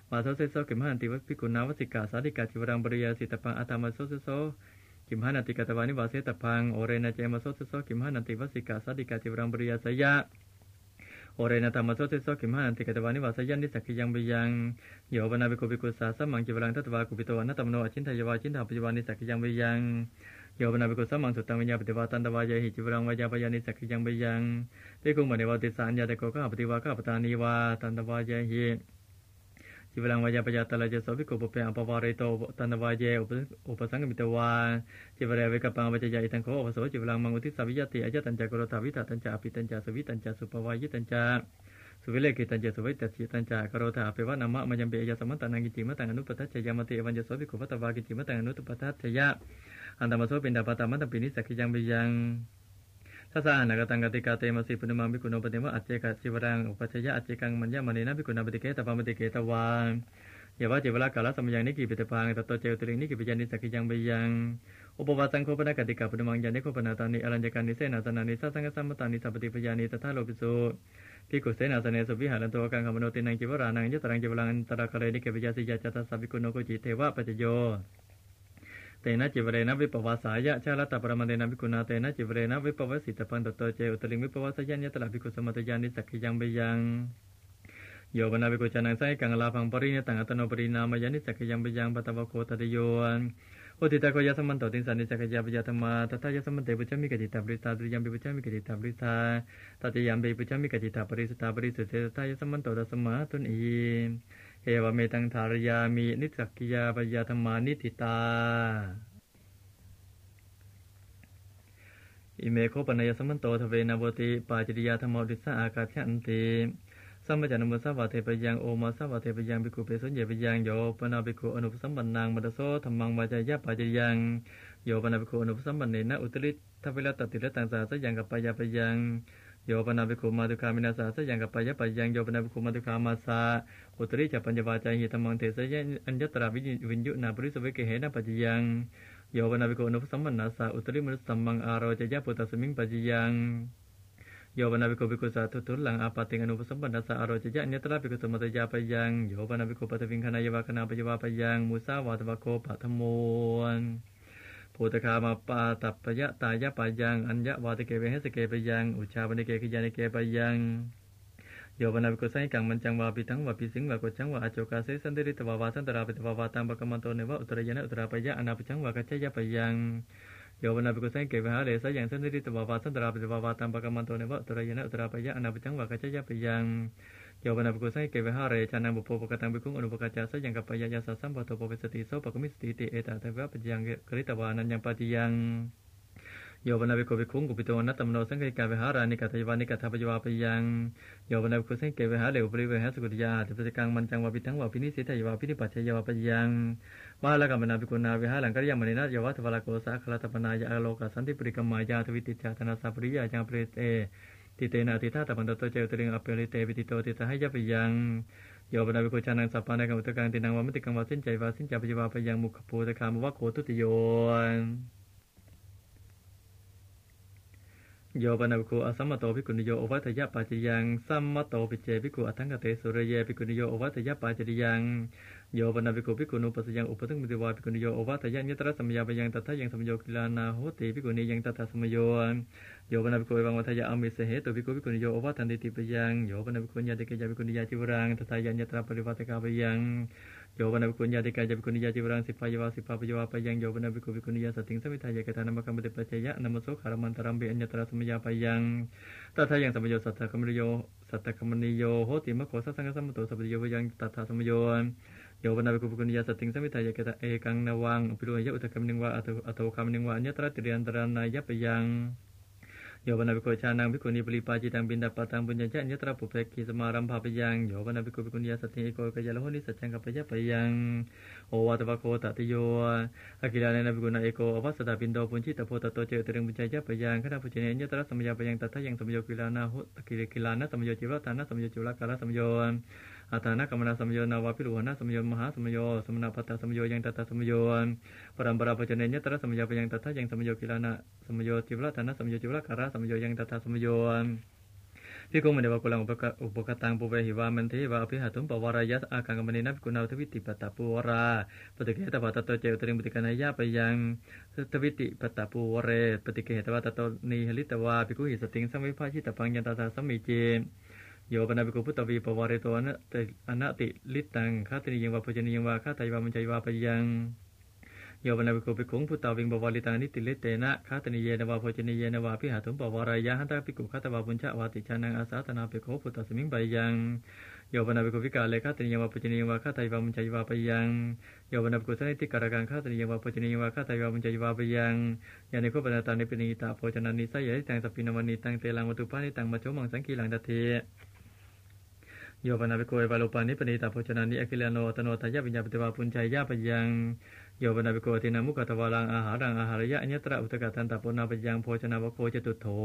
มาโซเซโซกิมหันติวัพิกุณาวสิกาสาธิกาจิวรังบริยาสิตปังอาตามาโซเซโซกิมหันติกาตวานิวาเสตพังโอเรนะเจมาโซเซโซกิมหันติวัสิกาสาธิกาจิวรังบริยาสยะโอเรนะธรรมโซเซโซกิมหันติกาตวานิวาสยันนิสักยังเบียงโยบนาบิโกบิกุสาสมังจิวรังทัตวากุปิโตอนัตตมโนอชินทายวาชินทาปัจจุบันนิสักยังเบียงโยบนาบิกุสมังสุตังวิญญาปฏิวาตันตวายหิจิวรังวายาปยานิสักยังเบียงภิกขุมณีวาติสานยาเตโกข้าปฏิวาข้าปตานีวาตันตวายหิจิวรังวายาปยาตลาเจโสภิกขุปุเปอัปวาริโตตันตวายอุปสังกมิตวาจิวเรวิกปังวัจยาอิทังโคอุปโสจิวรังมังอุทิสาวิยติอายตัญจากุโรตาวิตาตัญจาปิตัญจาสวิตัญจาสุปวายิตัญจาสุวิเลกิตัญจสุวิตัจิตัญจากโรธาเปวะนามะมัยมเบยสมัตตังกิจิมตังอนุปทัจจยามติเอวัญจโสภิกขุวัตวากิจิมตังอนุปทัจจยะอันตมโสปินดาปตามัตตปินิสักยังเบียงทัสสะนากตังกติกาเตมสิปุณมังภิกขุโนปฏิมะอัจเจกะจิวรังอุปัชยะอัจเจกังมัญญมณีนะภิกขุนาปฏิเกตปามปฏิเกตวายาวะเจวลากาลสมยังนิกิปิตพังตโตเจวตริงนิกิปิญานิสักยังเบียงอุปวาสังโฆปนกติกาปุณมังยานิโฆปนาตานิอรัญญกานิเสนาสนานิสัสสังฆสัมมตานิสัพติปญานิตถาโลภิสุภิกขุเสนาสเนสุวิหารันโตกังขมโนตินังจิวรานังยตรังจิวรังตระคะเรนิเกปิยาสิยาจัตตสัพพิกุโนโกจิเทวะปัจโยเตนะจิวเรนะวิปวาสายะชาลตปรมันเตนะภิกขุนาเตนะจิวเรนะวิปวสิตปันตโตเจอุตลิงวิปวาสยัญญตระภิกขุสมัตยานิสักยังเบียงโยบนาภิกขุจานังไสกังลาภังปริเนตังอัตโนปรินามยานิสักยังเบียงปัตตวโคตติโยอุติตาโกยสมันโตติสันนิสักยาปยาธรรมาตถายสมันเตปุจมิกจิตาปริสตาตุยัมปิปุจมิกจิตาปริสตาตัตยัมปิปุจมิกจิตาปริสตาปริสุเตตถายสมันโตตัสมาตุนีเอวเมตังธารยามินิสักยาปยาธรรมานิติตาอิเมโคปนัยสมันโตทเวนะโวติปาจิริยาธรรมดิสาอากาศยันติสัมปจานุมัสสาวะเทปยังโอมาสาวะเทปยังภิกขุเปสุญเยปยังโยปนาภิกขุอนุปสัมปันนังมัตโสธัมมังวาจายะปาจิริยังโยปนาภิกขุอนุปสัมปันเนนะอุตริทัพเวลตติระตังสาสยังกัปปายาปยังโยปนาภิกขุมาตุคามินาสาสยังกัปปายะปยังโยปนาภิกขุมาตุคามาสาอุตริจัปปัญญวาจาหิธัมมังเทสยะอัญญตระวิญญุนาปริสเวเกเหนะปัจยังโยปนาภิกขุอนุปสัมปันนาสาอุตริมนุสสัมมังอาโรจยะปุตตสมิงปัจยังโยบนาภิกขุภิกขุสาธุทุลังอาปาติงอนุปสัมปันนาสาอโรจยะเนตระภิกขุสมัตยาปยังโยบนาภิกขุปัตวิงคณายวาคณาปยวาปยังมุสาวาตวะโคปัทโมนโพธคามาปาตัปปยะตายะปยังอัญญวาติเกเวหสเกปยังอุชาปนิเกขิยานิเกปยังโยบนาภิกขุสังกังมันจังวาปิทังวาปิสิงวาโกจังวาอโจกาเสสันติริตวาวาสันตราปิตวาวาตังปะกมันโตเนวะอุตรยนะอุตราปยะอนาปจังวากัจจยะปยังโยบนาภิกขุสังเกวิหาเรสยังสันติริตวาวาสันตราปิตวาวาตังปะกมันโตเนวะอุตรยนะอุตราปยะอนาปจังวากัจจยะปยังโยบนาภิกขุสังเกวิหาเรชานังบุพโภปกตังภิกขุอนุปกัจจาสยังกัปปยะยาสสัมปโตโปเวสติโสปะกมิสติติเอตตะเวะปยังกริตวานันยังปฏิยังโยบนาภิกขุภิกขุงกุปิโตนัตตมโนสังเกกาวิหารานิกัตยวานิกัตถปยวาปยังโยบนาภิกขุสังเกวิหาเรอุปริเวหสกุติยาติปติกังมันจังวาปิทังวาปินิสิทายวาปินิปัจฉยวาปยังวาลกัมมนาภิกขุนาวิหารังกัลยามณีนายวะทวารโกสะคลาตปนายะอโลกสันติปริกมายาทวิติจาตนาสัปริยายังปริเตติเตนะติธาตปันโตโตเจวตริงอเปริเตวิติโตติสหยะปยังโยบนาภิกขุชานังสัพพานังอุตกังตินังวามติกังวาสินใจวาสินจาปยวาปยังมุขภูตคามวะโคทุติโยโยบนาภิกขุอสัมมโตภิกขุนิโยโอวัตยะปาจยังสัมมโตปิเจภิกขุอัฏฐังกเตสุรเยภิกขุนิโยโอวัตยะปาจยังโยบนาภิกขุภิกขุนุปัสยังอุปสังมิติวาภิกขุนิโยโอวัตยะนิตระสัมยาปยังตถายังสัมโยกิลานาโหติภิกขุนิยังตถาสัมโยโยบนาภิกขุวังวัตยะอมิเสเหตุภิกขุภิกขุนิโยโอวัตันติติปยังโยบนาภิกขุญาติเกยะภิกขุนิยาจิวรังตถายังนิตระปริวัตกาปยังโยบนาภิกขุญาติเกยะภิกขุนิยาจิวรังสิปายาวาสิปาปยวาปยังโยบนาภิกขุภิกขุนิยาสติงสมิทายะกตานามกัมปติปัจจยะนามโสขารมันตรัมเบอัญญตระสัมยาปยังตถายังสัมโยสัทธคัมมิโยสัทธคัมมิโยโหติมะโขสัสสังฆสัมมโตสัพพโยยังตถาสัมโยโยบนาภิกขุภิกขุนิยาสติงสมิทายะกตาเอกังนวังอภิโรยะอุตกรรมนิงวะอัตโตคามนิงวะอัญญตระติเรียนตรานายะปยังโยบนาภิกขุชานังภิกขุนีปริปาจิตังบินดาปตังบุญญาจะอัญญตระปุเพกิสมารัมภาปยังโยบนาภิกขุภิกขุนิยาสติเอโกกยะละโหนิสัจจังกัปปยะปยังโอวาตวะโคตติโยอากิลาเนนะภิกขุนาเอโกอวัสสตาปินโดปุญชิตโพตโตเจตรึงบุญญาจะปยังขณะปุจเนอัญญตระสัมยาปยังตถายังสัมโยกิลานาหุกิริกิลานะสัมโยจิวะทานะสัมโยจุลกาลสัมโยอาทานะกัมมนาสัมโยนาวาภิรุหนะสัมโยมหาสัมโยสมณพัตตสัมโยยังตถาสัมโยปรัมปราปุจเนอัญญตระสัมยาปยังตถายังสัมโยกิลานะสัมโยจิวะทานะสัมโยจุลกาลสัมโยยังตถาสัมโยพิคุมเดวะกุลังอุปกอุปกตังปุเวหิวามันเทวะอภิหาตุมปวารายะอากังกมณีนับกุณาทวิติปตาปูวราปฏิเกตปตตโตเจอุตริงปฏิกนายะไปยังทวิติปตาปูวเรปฏิเกตปตตนีหลิตวาภิกขุหิสติงสัมวิภาชิตปังยันตาสาสัมมิเจโยปนาภิกขุพุตตวีปวาริโตอนะอนะติลิตังคาติยังวาปุจนิยังวาคาตายวามัญจยวาไปยังโยปนาภิกขุภิกขุพุตตวิงปวาริตานิติเลเตนะคาตนิเยนวาปุจนิเยนวาภิหาตุมปวารายะหันตภิกขุคาตวาปุญชวาติชานังอาสาตนาภิกขุพุตตสมิงไปยังโยปนาภิกขุวิกาเลคาตนิยังวาปุจนิยังวาคาตายวามัญจยวาไปยังโยปนาภิกขุสนิติการกังคาตนิยังวาปุจนิยังวาคาตายวามัญจยวาไปยังยานิโคปนาตานิปินิตาโภชนานิสัยยะตังสปินวานิตังเตลังวัตุปานิตังมัจโฉมังสังกีลังดัตถิโยปนาภิกขุเอวาโลปานิปณิตาโภชนานิอคิลโนตโนทายะวิญญาปฏิวาปุญชัยยะปยังโยปนาภิกขุตินามุขตวารังอาหารังอาหารยะอัญญตระอุตกะตันตปุณาปยังโภชนาวโคจตุโถ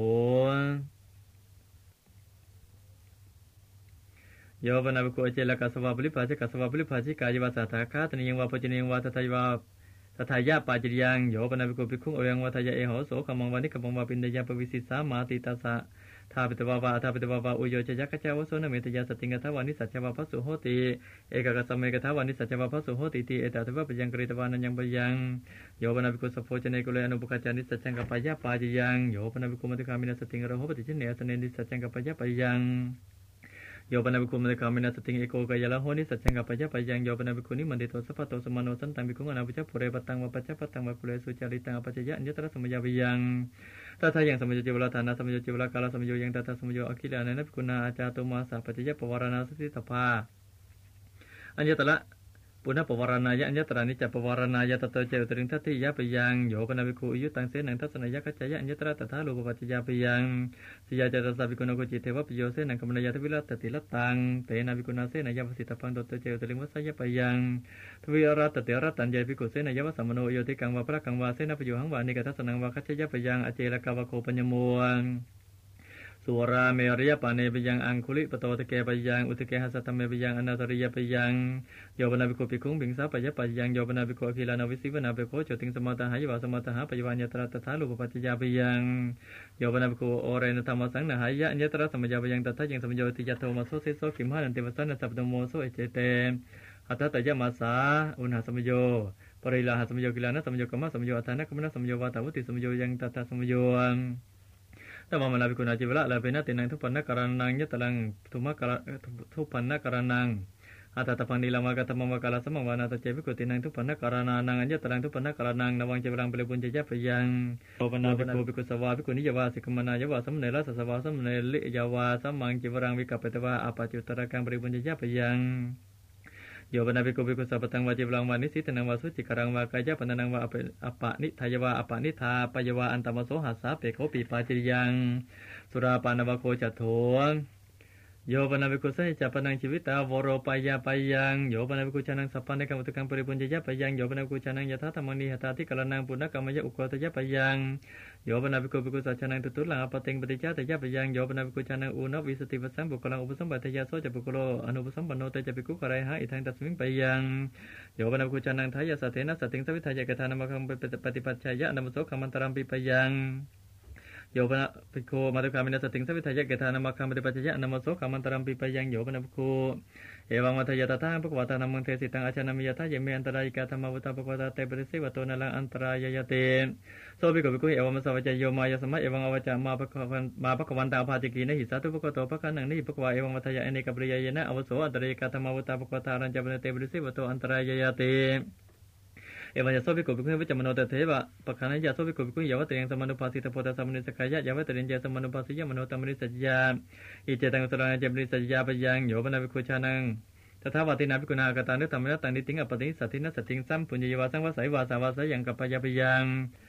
โยปนาภิกขุเจลกัสสวะบริภาชกัสสวะบริภาชิกายวาสาทาคาตนิยังวาปุจนิยังวาตถายวาตถายะปาจิยังโยปนาภิกขุภิกขุอยังวาทายะเอโหโสขมังวานิกมังวาปินเดยะปวิสิสามาติตัสสะทาปิตวาวาทาปิตวาวาอุโยชยักขจาวโสนเมตยาสติงกทวานิสัจจวาภัสสุโหติเอกกัสสเมกทวานิสัจจวาภัสสุโหติติเอตตะวะปยังกริตวานัญญังปยังโยปนาภิกขุสัพโพชเนกุเลอนุปกัจจานิสัจจังกัปปะยะปาจิยังโยปนาภิกขุมัตถคามินัสติงอรโหปฏิชิเนสเนนิสัจจังกัปปะยะปยังโยปนาภิกขุมัตถคามินัสติงเอโกกายะละโหนิสัจจังกัปปะยะปยังโยปนาภิกขุนิมันติโตสัพพะโตสมโนสันตังภิกขุอนาภิจัพปุเรปตังวะปัจจปัตตังวะกุเลสุจาริตังอปัจจยะอัญญตระสมยาวิยังตถายังสมโยจิวลาฐานะสมโยจิวลากาลสมโยยังตถาสมโยอคิลานันภิกขุนาอาจาตุมาสาปัจจยะปวารณาสติตภาอัญญตระปุณณปวารณายะอัญญตระนิจจปวารณายะตโตเจอุตริงทัตถิยะปยังโยปนาภิกขุยุตังเสนังทัศนยะกัจจยะอัญญตระตถาโลภปัจจยะปยังสิยาจตสัพภิกขุโนโกจิเทวะปิโยเสนังกัมมนายะทวิรัตติลัตตังเตนะภิกขุนาเสนัยะวสิตปังตโตเจอุตริงวัสยะปยังทวิรัตติรัตตัญญภิกขุเสนัยะวสัมมโนโยติกังวะพระกังวะเสนะปโยหังวานิกทัสนังวะกัจจยะปยังอเจรกาวะโคปัญญโมสุราเมริยปาเนปยังอังคุลิปโตตะเกปยังอุตเกหัสตเมปยังอนาตริยปยังโยปนาภิกขุภิกขุบิงสาปยะปยังโยปนาภิกขุอคิลานาวิสิวนาภิกขุโจติงสมาตหายวาสมาตหาปยวัญญตระตถาลูปปัจจยาปยังโยปนาภิกขุโอเรนธรรมสังนหายะอัญญตระสมยาปยังตถายังสมโยติยะโทมโสเสโสขิมหานันติวสันนสัพพโมโสเอเจเตอัตตะยะมาสาอุณหสมโยปริลาหสมโยกิลานะสมโยกัมมะสมโยอัฏฐานะกัมมะสมโยวาตาวุติสมโยยังตถาสมโยตมะมนาภิกขุนาจิวละลาเปนะตินังทุปันนะกรณังยะตลังทุมะกะทุปันนะกรณังอัตตะปันนิลามะกะตมะมะกะลาสมะวานาตะเจภิกขุตินังทุปันนะกรณานังอัญญตลังทุปันนะกรณังนวังเจวรังเปเลปุญจยะปยังโอปนาภิกขุภิกขุสวาภิกขุนิยวาสิกมนายวาสัมเนรสัสวาสัมเนลิยวาสัมมังเจวรังวิกัปปะตวะอปัจจุตระกังเปเลปุญจยะปยังโยปนาภิกขุภิกขุสัพพตังวาจิวรังวานิสิตนังวาสุจิกรังวากายะปะนังวาอปะนิทายวาอปะนิทาปยวาอันตมโสหัสสะเปโขปิปาจิยังสุราปานวโคจัตโถโยปนาภิกขุสัจจะปนังชีวิตาวโรปายาปยังโยปนาภิกขุชานังสัพพันในกรรมตุกังปริปุญญยะปยังโยปนาภิกขุชานังยถาธรรมนิหตาธิกรณังปุณณกรรมยะอุโกตยะปยังโยปนาภิกขุภิกขุสัจชานังตุตุลังอปติงปฏิจจตยะปยังโยปนาภิกขุชานังอุณวิสติวสังบุคลังอุปสัมปทยาโสจะบุคโลอนุปสัมปันโนเตจะภิกขุกไรหะอิทังตัสมิงปยังโยปนาภิกขุชานังทายะสัทเถนะสัตติงสวิทายะกทานามะคังปฏิปัจฉายะนามโสขมันตรัมปิปยังโยปนาภิกขุมาตุคามินัสติงสวิทายะเกธานามะคังปฏิปัจจยะนามโสขามันตรัมปิปยังโยปนาภิกขุเอวังวัฏยตถาภควตานัมมังเทสิตังอาชานามิยถาเยเมอันตรายกาธรรมวุตาภควตาเตปริสิวโตนะลังอันตรายยะเตโสภิกขุภิกขุเอวังมัสสะวัจโยมายะสมะเอวังอวัจจะมาภควันมาภควันตาภาจิกีนะหิสาตุภควโตภคันนังนิภควาเอวังวัฏยะอเนกปริยายนะอวโสอันตรายกาธรรมวุตาภควตารัญจปเนเตปริสิวโตอันตรายยะเตเอวังยะโสภิกขุภิกขุวิจมโนเตเทวะปะคานะยะโสภิกขุภิกขุยาวะเตยังสมานุภาสิตโพธสัมมนิสกายะยาวะเตริญญะสมานุภาสิยะมโนตัมมนิสัจยาอิเจตังสรณะเจมนิสัจยาปยังโยปนาภิกขุชานังตถาวตินาภิกขุนากตานุธรรมะตังนิติงอปติสัตถินัสติงสัมปุญญยวาสังวาสัยวาสาวาสยังกัปปะยะปยัง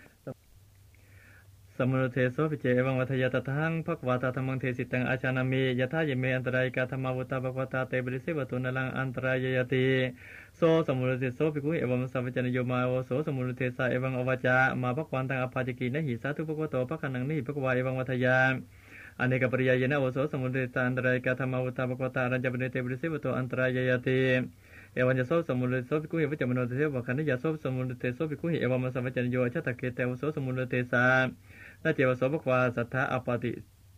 สมุทเทโสภิเจเอวังวัฏยตทังภควตาธรรมังเทสิตังอาชานามิยถาเยเมอันตรายกาธรรมวุตาภควตาเตปริสิวโตนะลังอันตรายยะติโสสมุทเทโสภิกขุเอวังสัพพจนโยมาโอโสสมุทเทสาเอวังอวัจจะมาภควันตังอภาจิกีนะหิสาธุภควโตภคันนังนิภควาเอวังวัฏยาอเนกปริยายนะโอโสสมุทเทสาอันตรายกาธรรมวุตาภควตารัญจปเนเตปริสิวโตอันตรายยะติเอวังจะโสสมุทเทโสภิกขุเอวัจจะมโนเทเทวะคันนิยะโสสมุทเทโสภิกขุเอวังมัสสะวัจจนโยชะตะเกเตโอโสสมุทเทสานาเจวโสภควาสัทธะอปติ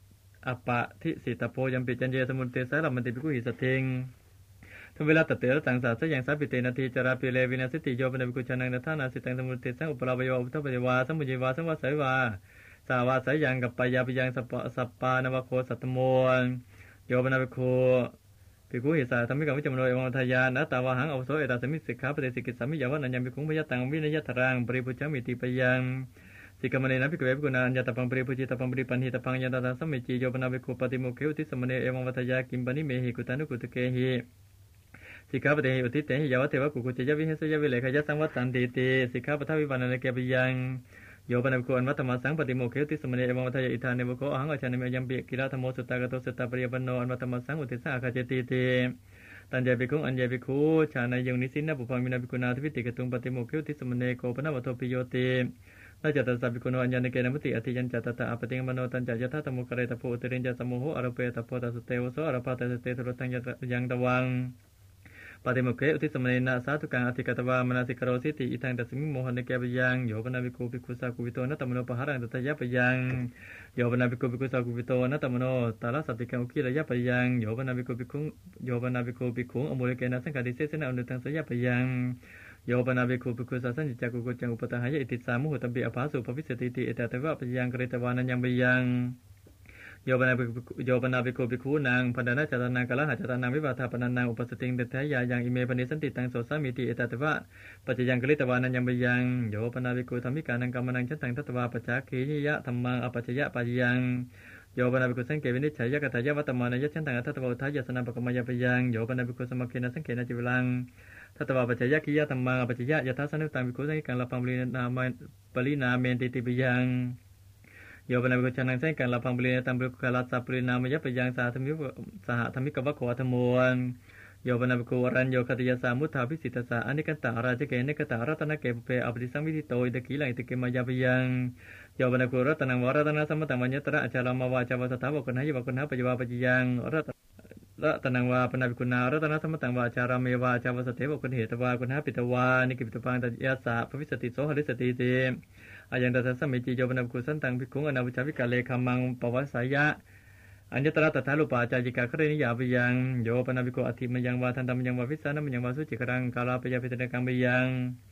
อปะทิสิตโพยัมปิจันเยสมุนเตสาลมันติภิกขุหิสติงทุเวลาตัดเตระตังสาสยังสาปิเตนาทีจาราปิเลวินาสติโยปนภิกขุชานังนัทานาสิตังสมุนเตสังอุปราบโยอุทธปเยวาสมุจิวาสังวาสายวาสาวาสายังกับปายาปิยังสัปสัปปานวโคสัตตโมโยปนภิกขุภิกขุหิสาธรรมิกาวิจมโนเอวังทายานะตาวาหังอวโสเอตาสมิสิกขาปฏิสิกิสามิยาวันัญญภิกขุพยตังวินยตรังปริปุจจามิติปยังสิกามเนนะภิกขุเวภิกขุนาอัญญตปังปริปุจิตปังปริปันหิตปังยันตตาสัมมิจิโยปนภิกขุปฏิโมเขอุทิสมเนเอวังวัทยากิมปนิเมหิกุตานุกุตเกหิสิกขาปฏิอุทิเตหิยาวะเทวะกุกุจยวิเหสยวิเลขยสังวัตตันติติสิกขาปทวิปันนเกปิยังโยปนภิกขุอันวัตตมัสสังปฏิโมเขอุทิสมเนเอวังวัทยาอิทานเนวโกอหังอชานิเมยัมปิกิลาธโมสุตตากโตสุตตาปริยปันโนอันวัตตมัสสังอุทิสสะอาคาเจติติตันเจภิกขุอัญเจภิกขุชานายุงนิสินนะปุพังมินาภิกขุนาทิวิติกตุงปฏิโมเขอุทิสมเนโกปนะวะโตปิโยตินาจัตตาสัพพิโกโนอัญญาณเกณมุติอธิยัญจัตตาอปติงมโนตัญจะยถาตมุกเรตโพอุตรินจะสมุโหอรเปตโพตัสเตวโสอรปาตัสเตทุรตังยังตวังปฏิโมเขอุทิสมเนนะสาธุกังอธิกตวามนาสิกโรสิติอิทังตัสมิโมหันเกปยังโยปนาภิกขุภิกขุสากุวิโตนะตมโนปหารังตัตยะปยังโยปนาภิกขุภิกขุสากุวิโตนะตมโนตาลสัพพิกังอุคิระยะปยังโยปนาภิกขุภิกขุโยปนาภิกขุภิกขุอโมเลเกนะสังฆาติเสสนะอนุตังสยะปยังโยปนาภิกขุภิกขุสัสสัญจักกุกุจังอุปตหายะอิติสามุหุตัมปิอภาสุภวิสติติเอตตะวะปยังกฤตวานัญญังปยังโยปนาภิกขุโยปนาภิกขุภิกขุนางพันดานะจตนังกะละหะจตนังวิวาทาปนันนังอุปสติงเตถยายังอิเมปนิสันติตังโสสามิติเอตตะวะปัจจยังกฤตวานัญญังปยังโยปนาภิกขุธัมมิกานังกัมมังฉันตังทัตตวาปัจจคียะธัมมังอปัจจยะปะยังโยปนาภิกขุสังเกวินิจฉัยยะกตายะวัตตมานายะฉันตังทัตตวะอุทายะสนังปะกมยะปยังโยปนาภิกขุสมัคเคนะสังเกนะจิวลังทัตตวาปัจจยะคียะธัมมังอปัจจยะยะทัสสนุตังภิกขุสังกังละปังปรินามาปรินาเมนติติปยังโยปนาภิกขุชานังสังกังละพังปรินาตัมภิกขุกาลัสสะปรินามยะปยังสาธมิสหธรรมิกวะโขธรรมวนโยปนาภิกขุวรัญโยคติยสามุทธาภิสิตสาอนิกันตาราชเกเนกตารัตนะเกปเปอภิสังวิธิโตอิตกิลังอิตเกมายาปยังโยปนาภิกขุรัตนังวรัตนะสัมมตังวัญญตระอาจารามาวาจาวสถาวกุณหายะวกุณหาปยวาปจิยังรัตรัตนังวาปนาภิกขุนารัตนะสัมมตังวาจารามเมวาจาวสเทวกุณเหตวากุณหาปิตวานิกิปิตปังตัยสะภวิสติโสหริสติเตอายังตัสสะเมจิโยปนาภิกขุสันตังภิกขุอนาวิชาวิกาเลคัมมังปวัสสายะอัญญตระตถาลุปาจายิกาคเรนิยาปยังโยปนาภิกขุอธิมยังวาทันตมยังวาวิสานะมยังวาสุจิกรังกาลาปยาปิตเนกังปยัง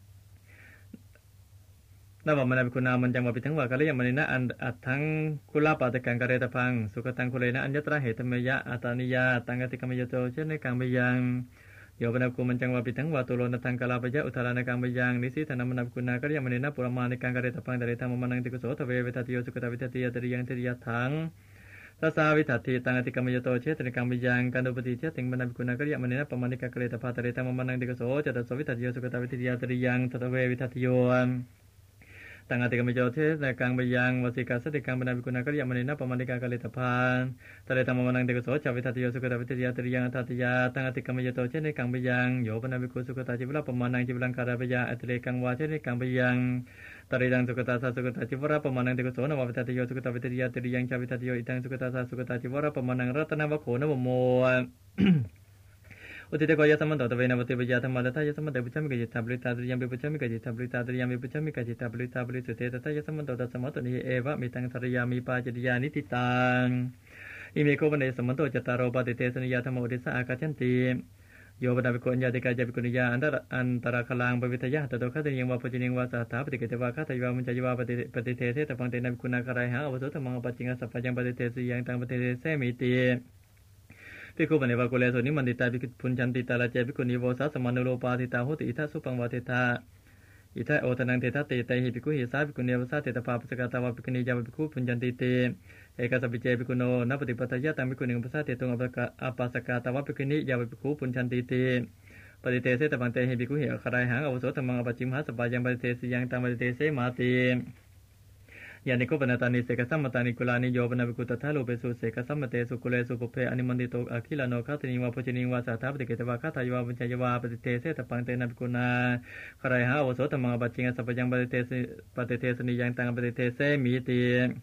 นาบมนาภิกขุนามันยังวาปิทั้งวากาลยังมณีนะอันอัตถังกุลาปาตกังกะเรตพังสุขตังคุเลนะอัญญตระเหตมยะอาตานิยาตังกติกามยโตเชนในกังปยังโยปนาภิกขุมันจังวาปิทั้งวาตุโลนะทังกาลาปยะอุทารานกังปยังนิสิธนมนาภิกขุนากะยังมณีนะปุรมานิกังกะเรตพังตะเรตังมมนังติกุโสทเวเวทัตติโยสุขตาวิทัตติยะตริยังเทริยะถังทัสสาวิทัตติตังอติกามยโตเชตนิกังปยังกันดุปติเชติงมนาภิกขุนากะยังมณีนะปมานิกะกะเรตภาตะเรตังมมนังติกุโสจตโสวิทัตติโยสุขตาวิทัตติยะตริยังทัตเววิทัตติโยตังอติกามยโตเทสกังปยังวสิกาสติกังมนาภิกขุนากะยังมณีนะปมานิกะกะเรตภาตะเรตังมมนังติกุโสจวิทัตติโยสุขตาวิทัตติยะตริยังทัตติยาตังอติกามยโตเชติกังปยังโยปนาภิกขุสุขตาจิวะปมานังจิวลังคาราปยะอติเรกังวาเชติกังปยังตริยังสุขตาสาสุขตาจิวะปมานังติกุโสนวะวิทัตติโยสุขตาวิทัตติยะตริยังชาวิทัตติโยอิตังสุขตาสาสุขตาจิวะปมานังรัตนวะโขนวโมอุติเตโกยะสัมมันโตตะเวนวติปยะธรรมะตถายะสัมมันเตปุจฉามิกะจิตตาปริตาตริยังปิปุจฉามิกะจิตตาปริตาตริยังปิปุจฉามิกะจิตตาปริตาปริสุเตตถายะสัมมันโตตัสสะมะโตนิเอวะมิตังสรยามิปาจติยานิติตังอิเมโกปะเนสัมมันโตจตารโอปฏิเตสนิยาธรรมโอติสะอากัจฉันติโยปนาภิกขุอัญญาติกาจาภิกขุนิยาอันตระอันตระคลังปวิทยะตโตคติยังวาปุจิยังวาสาถาปฏิเกตวาคตยวามุญจยวาปฏิปฏิเทเทตปังเตนะภิกขุนาคารายหาอวโสธรรมังอปัจจิงัสสะปะยังปฏิเทสิยังตังปฏิเทเสมิติภิกขุปเนวะกุเลโสนิมันติตาภิกขุพุญชันติตาลาเจภิกขุนิโวสาสมานุโลปาติตาโหติอิทัสสุปังวาเทธาอิทัยโอทนังเทธาเตตัยหิภิกขุหิสาภิกขุเนวสาเตตปาปสกตาวาภิกขุนิยาวภิกขุพุญชันติเตเอกสัพพิเจภิกขุโนนัปปฏิปทายะตังภิกขุนิอุปสาเตตุงอปัสกตาวาภิกขุนิยาวภิกขุพุญชันติเตปฏิเทเสตปังเตหิภิกขุหิคารายหังอวโสธรรมังอปัจจิมหาสปายังปฏิเทสิยังตังปฏิเทเสมาติยานิโกปนาตานิเสกสัมมตานิกุลานิโยปนาภิกขุตถาโลเปสุเสกสัมมเตสุกุเลสุภเพอนิมันติโตอคิลาโนคัตติวาปุจินิวาสาถาปฏิเกตวาคตายวาปัญจยวาปฏิเทเสตปังเตนะภิกขุนาคารายหังอวโสธรรมังอปัจจิงัสสะปะยังปฏิเทสปฏิเทสนิยังตังปฏิเทเสมิติ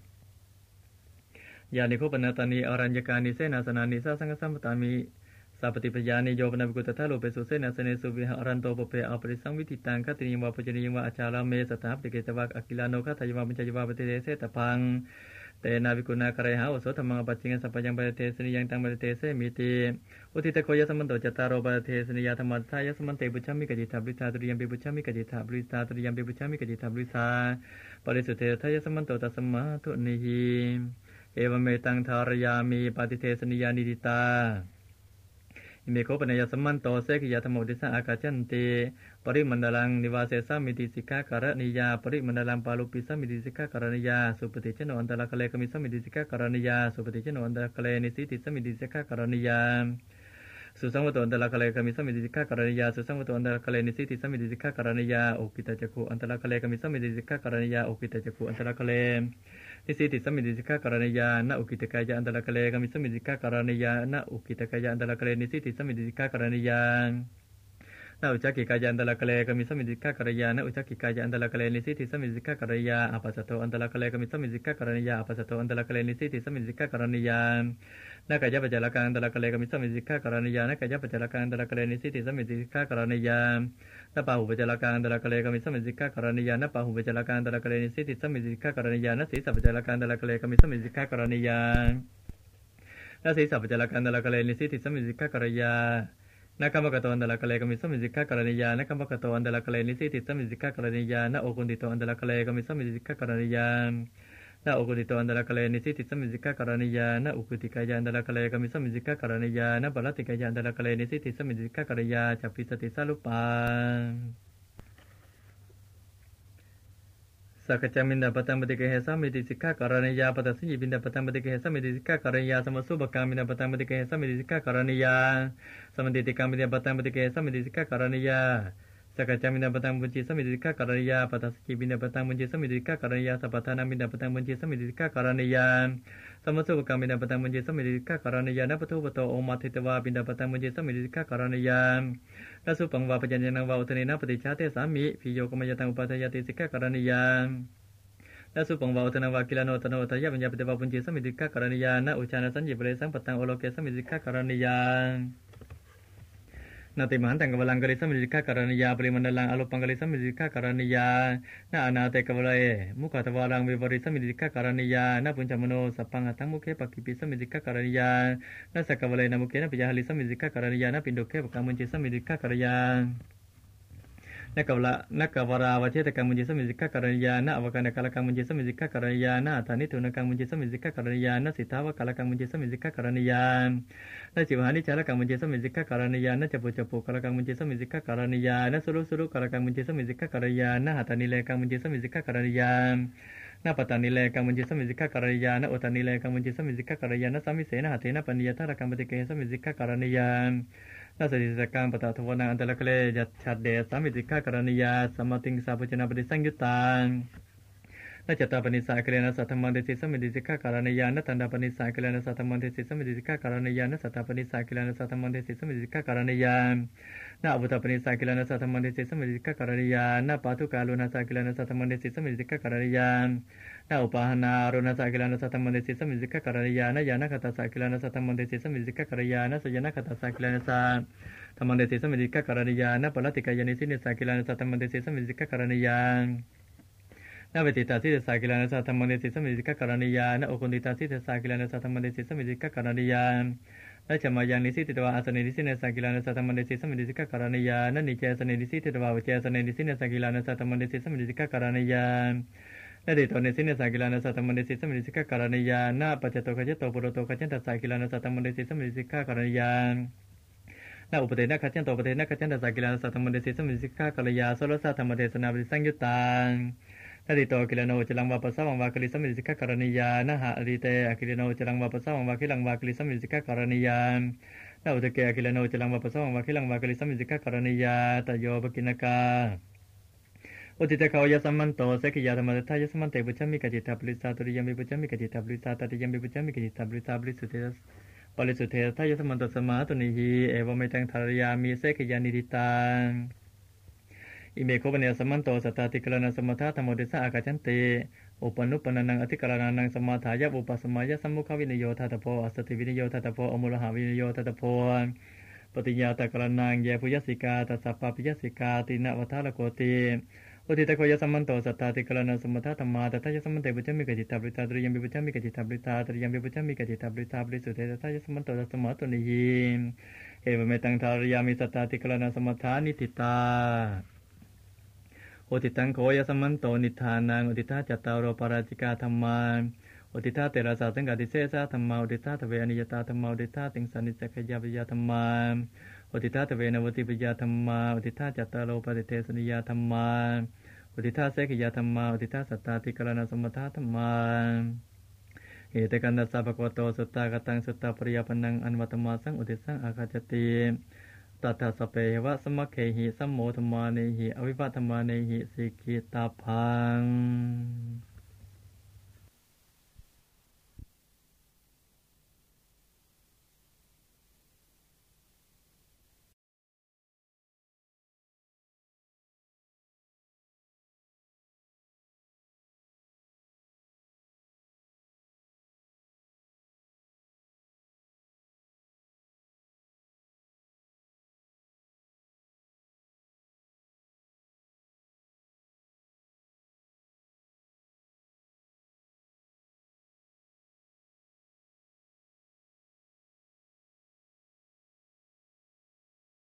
ยานิโกปนาตานิอรัญญกานิเสนาสนานิสาสังฆสัมปตามิสัพปฏิปยานิโยปนาภิกขุตถาโลเปสุเสนาสเนสุวิหารันโตปเปอปริสังวิติตังคติยังวาปุจนิยังวาอาจาราเมสถาปฏิเกตวาอคิลาโนคตายวาปัญจยวาปฏิเทเสตปังเตนาวิกุณาคเรหาโอโสธรรมังปัจจิงสัพพยังปะเทสนิยังตังปะเทเสมิติอุทิตโคยสมันโตจตารโรปะเทสนิยธรรมัสสายสมันเตบุชามิกจิตาบริตาตุริยมปิบุชามิกจิตาบริตาตุริยมปิบุชามิกจิตาบริตาปริสุทธิทายสมันโตตัสมาตุนิหิเอวเมตังทารยามิปฏิเทสนิยานิดิตาอิเมโคปนัยสมันโตเสกิยธรรมอุติสะอากาจันติปริมันดลังนิวาเสสามิติสิกขาการณิยาปริมันดลังปาลุปิสามิติสิกขาการณิยาสุปฏิเจโนอันตระคะเลกมิสามิติสิกขาการณิยาสุปฏิเจโนอันตระคะเลนิสิติสามิติสิกขาการณิยาสุสังวโตอันตระคะเลกมิสามิติสิกขาการณิยาสุสังวโตอันตระคะเลนิสิติสามิติสิกขาการณิยาโอกิตจักขุอันตระคะเลกมิสามิติสิกขาการณิยาโอกิตจักขุอันตระคะเลนิสิติสมิติสิกขาการณิยาณอุกิตกายะอันตระคะเลกมิสมิติสิกขาการณิยาณอุกิตกายะอันตระคะเลนิสิติสมิติสิกขาการณิยาณอุจักขิกายะอันตระคะเลกมิสมิติสิกขาการณิยาณอุจักขิกายะอันตระคะเลนิสิติสมิติสิกขาการณิยาอปัสสโตอันตระคะเลกมิสมิติสิกขาการณิยาอปัสสโตอันตระคะเลนิสิติสมิติสิกขาการณิยาณกายะปัจจารกังอันตระคะเลกมิสมิติสิกขาการณิยาณกายะปัจจารกังอันตระคะเลนิสิติสมิติสิกขาการณิยาณปาหุปัจจารกังอันตระคะเลกมิสมิติสิกขาการณิยาณปาหุปัจจารกังอันตระคะเลนิสิติสมิติสิกขาการณิยาณสีสัพปัจจารกังอันตระคะเลกมิสมิติสิกขาการณิยาณสีสัพปัจจารกังอันตระคะเลนิสิติสมิติสิกขาการณิยาณกัมปะกะโตอันตระคะเลกมิสมิติสิกขาการณิยาณกัมปะกะโตอันตระคะเลนิสิติสมิติสิกขาการณิยาณโอกุณฑิโตอันตระคะเลกมิสมิติสิกขาการณิยาณโอกุณฑิโตอันตระคะเลนิสิติสมิติสิกขาการณิยาณอุกุติกายะอันตระคะเลกมิสมิติสิกขาการณิยาณปะละติกายะอันตระคะเลนิสิติสมิติสิกขาการณิยาจัปปิสติสารุปาสักจามินดาปตังปฏิเกหสามิติสิกขาการณิยาปตัสสิบินดาปตังปฏิเกหสามิติสิกขาการณิยาสมสุบกามินดาปตังปฏิเกหสามิติสิกขาการณิยาสมติติกามินดาปตังปฏิเกหสามิติสิกขาการณิยาสักจามินดาปตังบุญจิสมิติสิกขาการณิยาปตัสสิบินดาปตังบุญจิสมิติสิกขาการณิยาสัพพทานามินดาปตังบุญจิสมิติสิกขาการณิยาสมสุบกามินดาปตังบุญจิสมิติสิกขาการณิยานัปทุปโตโอมาทิตวาบินดาปตังบุญจิสมิติสิกขาการณิยานัสุปังวาปัญญนังวาอุทเนนะปฏิชาเตสามิพิโยกมยตังอุปัฏฐายติสิกขาการณิยานัสุปังวาอุทนวากิลโนตโนตยะปัญญาปฏิวาปุญจิสมิติสิกขาการณิยานะอุชานะสัญญิปเรสังปตังโอโลเกสมิติสิกขาการณิยานาติมหันตังกวลังกฤษสมิติสิกขาการณิยาปริมันดลังอโลปังกฤษสมิติสิกขาการณิยานาอนาเตกวลัยมุขตวารังวิปริสมิติสิกขาการณิยานาปุญจมโนสัพพังหัตังมุขปักขิปิสมิติสิกขาการณิยานาสักกวลัยนามุขนะปิยหลิสมิติสิกขาการณิยานาปินโดเขปกังมุญจิสมิติสิกขาการณิยานักวละนักวราวเชตกังมุญจิสมิติสิกขาการณิยานาอวกานะกาลกังมุญจิสมิติสิกขาการณิยานาธานิทุนกังมุญจิสมิติสิกขาการณิยานาสิทธาวกาลกังมุญจิสมิติสิกขาการณิยานาจิวหานิจารกังมุญจิสมิติสิกขาการณิยานาจปุจปุกาลกังมุญจิสมิติสิกขาการณิยานาสุรุสุรุกาลกังมุญจิสมิติสิกขาการณิยานาหัตานิเลกังมุญจิสมิติสิกขาการณิยานาปตานิเลกังมุญจิสมิติสิกขาการณิยานาอุตานิเลกังมุญจิสมิติสิกขาการณิยานาสามิเสนะหัตเถนะปัญญาธารกังปฏิเกหสมิติสิกขาการณิยานาสติสกังปตะทวนาอันตระคะเลยัตฉัดเดสามิติสิกขาการณิยาสัมมาติงสาปุจนะปฏิสังยุตตังนาจตาปนิสายกเลนะสัทธมันเตสิสมิติสิกขาการณิยานาตันดาปนิสายกเลนะสัทธมันเตสิสมิติสิกขาการณิยานาสัตตาปนิสายกเลนะสัทธมันเตสิสมิติสิกขาการณิยานาอุตตปนิสายกเลนะสัทธมันเตสิสมิติสิกขาการณิยานาปาทุกาลุนาสายกเลนะสัทธมันเตสิสมิติสิกขาการณิยานาอุปาหนาโรนาสายกเลนะสัทธมันเตสิสมิติสิกขาการณิยานาญาณคตาสายกเลนะสัทธมันเตสิสมิติสิกขาการณิยานาสยนะคตาสายกเลนะสัทธมันเตสิสมิติสิกขาการณิยานาปละติกายานิสิเนสายกเลนะสัทธมันเตสิสมิติสิกขาการณิยานาเวติตาสิเตสากิลานะสัทธมันเตสิสมิติสิกขาการณิยานาโอคุนติตาสิเตสากิลานะสัทธมันเตสิสมิติสิกขาการณิยานาจมายังนิสิตตวาอาสเนนิสิเนสากิลานะสัทธมันเตสิสมิติสิกขาการณิยานานิเจสเนนิสิตตวาวิเจสเนนิสิเนสากิลานะสัทธมันเตสิสมิติสิกขาการณิยานาเดโตเนสิเนสากิลานะสัทธมันเตสิสมิติสิกขาการณิยานาปัจจโตขจโตปุโรโตขจันตสากิลานะสัทธมันเตสิสมิติสิกขาการณิยานาอุปเทนะขจันโตอุปเทนะขจันตสากิลานะสัทธมันเตสิสมิติสิกขาการณิยาโสรสะธรรมเทศนาปฏิสังยุตตังนาดิโตกิลโนจลังวาปัสสะวังวาคิลิสมิติสิกขาการณิยานะหะอริเตอกิลโนจลังวาปัสสะวังวาคิลังวาคิลิสมิติสิกขาการณิยานาอุตเกอกิลโนจลังวาปัสสะวังวาคิลังวาคิลิสมิติสิกขาการณิยาตโยปกินกาอุติตะเขายะสัมมันโตเสกิยาธรรมะทายะสัมมันเตปุจฉมิกจิตาปริสาตุริยมิปุจฉมิกจิตาปริสาตติยมิปุจฉมิกจิตาปริสาปริสุเทสปริสุเทสทายะสัมมันโตสมาตุนิหิเอวเมตังทารยามิเสกิยานิดิตังอิเมโคปเนสัมมันโตสัตตติกลนะสมถะธรรมเดสะอากาจันเตอุปนุปนังอธิกรณานังสมาถายะอุปสมัยะสัมมุขวินโยทัตโพอัสสติวินโยทัตโพอมุลหะวินโยทัตโพปฏิญาตกรณังเยปุยสิกาตัสสะปะปิยสิกาตินะวัฏาลโกติอุทิตโคยสัมมันโตสัตตาติกรณสมุทธธรรมาตัทยสัมมันเตปุจจมิกจิตาบริตาตริยมปิปุจจมิกจิตาบริตาตริยมปิปุจจมิกจิตาบริตาบริสุทธิตัทยสัมมันโตสัมมาตุนิหิเอวเมตังทารยามิสัตตาติกรณสมุทฐานิติตาอุทิตังโคยสัมมันโตนิทานังอุทิตาจัตตารโรปาราจิกาธรรมาอุทิตาเตระสาสังกัติเสสะธรรมาอุทิตาทเวอนิยตาธรรมาอุทิตาติงสานิจักขยาปิยธรรมาอุทิตาทเวนวติปิยธรรมาอุทิตาจัตตารโรปฏิเทสนิยธรรมาอุทิตาเสกยธรรมาอุทิตาสัตตาติกรณสมุทฐาธรรมาเอเตกันตัสสะภะคะวะโตสุตตากตังสุตตาปริยปนังอันวัตมาสังอุทิสังอาคาจติตัทธสเปวะสมัคเคหิสัมโมธรรมาเนหิอวิภัตธรรมาเนหิสิกิตาพัง